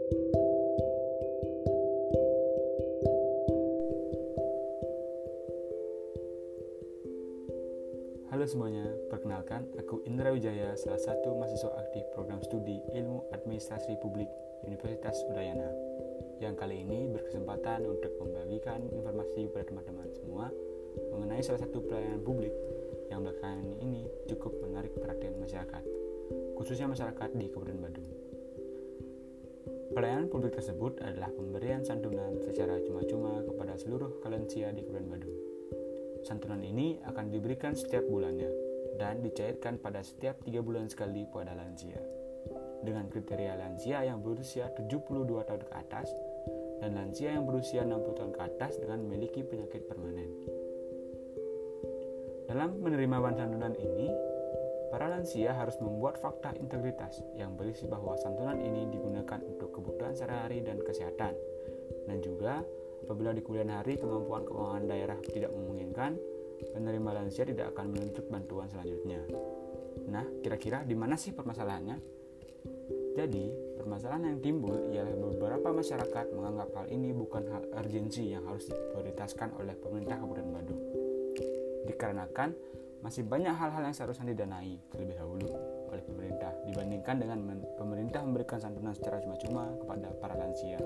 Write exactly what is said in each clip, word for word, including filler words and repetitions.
Halo semuanya, perkenalkan aku Indra Wijaya, salah satu mahasiswa aktif program studi Ilmu Administrasi Publik Universitas Udayana, yang kali ini berkesempatan untuk membagikan informasi kepada teman-teman semua mengenai salah satu pelayanan publik yang belakangan ini cukup menarik perhatian masyarakat, khususnya masyarakat di Kabupaten Badung. Pelayanan publik tersebut adalah pemberian santunan secara cuma-cuma kepada seluruh lansia di Kabupaten Badung. Santunan ini akan diberikan setiap bulannya dan dicairkan pada setiap tiga bulan sekali pada lansia, dengan kriteria lansia yang berusia tujuh puluh dua tahun ke atas dan lansia yang berusia enam puluh tahun ke atas dengan memiliki penyakit permanen. Dalam menerima bantuan santunan ini, para lansia harus membuat fakta integritas yang berisi bahwa santunan ini digunakan untuk kebutuhan sehari-hari dan kesehatan, dan juga apabila di kemudian hari kemampuan keuangan daerah tidak memungkinkan, penerima lansia tidak akan menuntut bantuan selanjutnya. Nah, kira-kira di mana sih permasalahannya? Jadi, permasalahan yang timbul ialah beberapa masyarakat menganggap hal ini bukan hal urgensi yang harus diprioritaskan oleh pemerintah Kabupaten Badung. Dikarenakan masih banyak hal-hal yang seharusnya didanai terlebih dahulu oleh pemerintah dibandingkan dengan men- pemerintah memberikan santunan secara cuma-cuma kepada para lansia.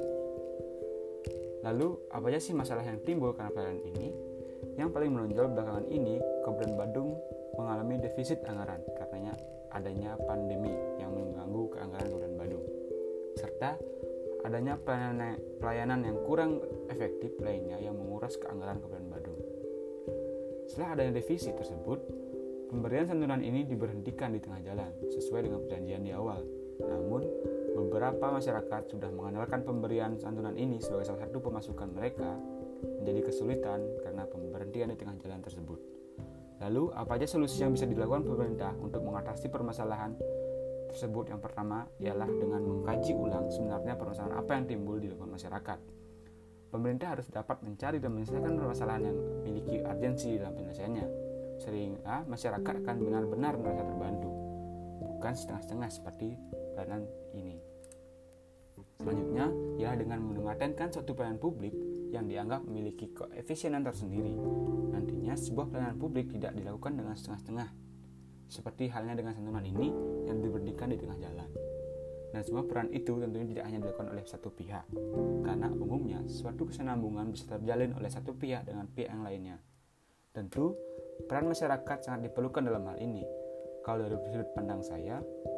Lalu, apa aja sih masalah yang timbul karena pelayanan ini? Yang paling menonjol belakangan ini, Kabupaten Badung mengalami defisit anggaran karena adanya pandemi yang mengganggu keanggaran Kabupaten Badung, serta adanya pelayanan, pelayanan yang kurang efektif lainnya yang menguras keanggaran Kabupaten Badung. Setelah adanya defisit tersebut, pemberian santunan ini diberhentikan di tengah jalan sesuai dengan perjanjian di awal. Namun, beberapa masyarakat sudah mengandalkan pemberian santunan ini sebagai salah satu pemasukan mereka menjadi kesulitan karena pemberhentian di tengah jalan tersebut. Lalu, apa aja solusi yang bisa dilakukan pemerintah untuk mengatasi permasalahan tersebut? Yang pertama ialah dengan mengkaji ulang sebenarnya permasalahan apa yang timbul di lingkungan masyarakat. Pemerintah harus dapat mencari dan menyelesaikan permasalahan yang memiliki urgensi dalam penyelesaiannya, sehingga masyarakat akan benar-benar merasa terbantu, bukan setengah-setengah seperti pelayanan ini. Selanjutnya ialah dengan mematenkan suatu pelayanan publik yang dianggap memiliki koefisienan tersendiri. Nantinya sebuah pelayanan publik tidak dilakukan dengan setengah-setengah, seperti halnya dengan santunan ini yang diberhentikan di tengah jalan. Dan semua peran itu tentunya tidak hanya dilakukan oleh satu pihak, karena umumnya suatu kesinambungan bisa terjalin oleh satu pihak dengan pihak yang lainnya. Tentu peran masyarakat sangat diperlukan dalam hal ini. Kalau dari sudut pandang saya,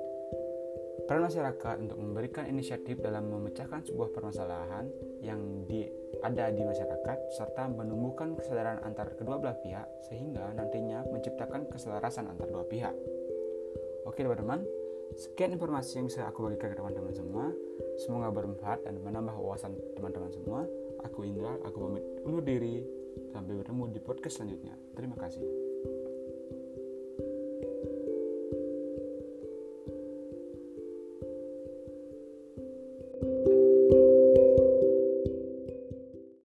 peran masyarakat untuk memberikan inisiatif dalam memecahkan sebuah permasalahan yang di, ada di masyarakat serta menumbuhkan kesadaran antar kedua belah pihak sehingga nantinya menciptakan keselarasan antar dua pihak. Oke teman-teman, sekian informasi yang bisa aku bagikan ke teman-teman semua. Semoga bermanfaat dan menambah wawasan teman-teman semua. Aku Indra, aku pamit undur diri. Sampai bertemu di podcast selanjutnya. Terima kasih.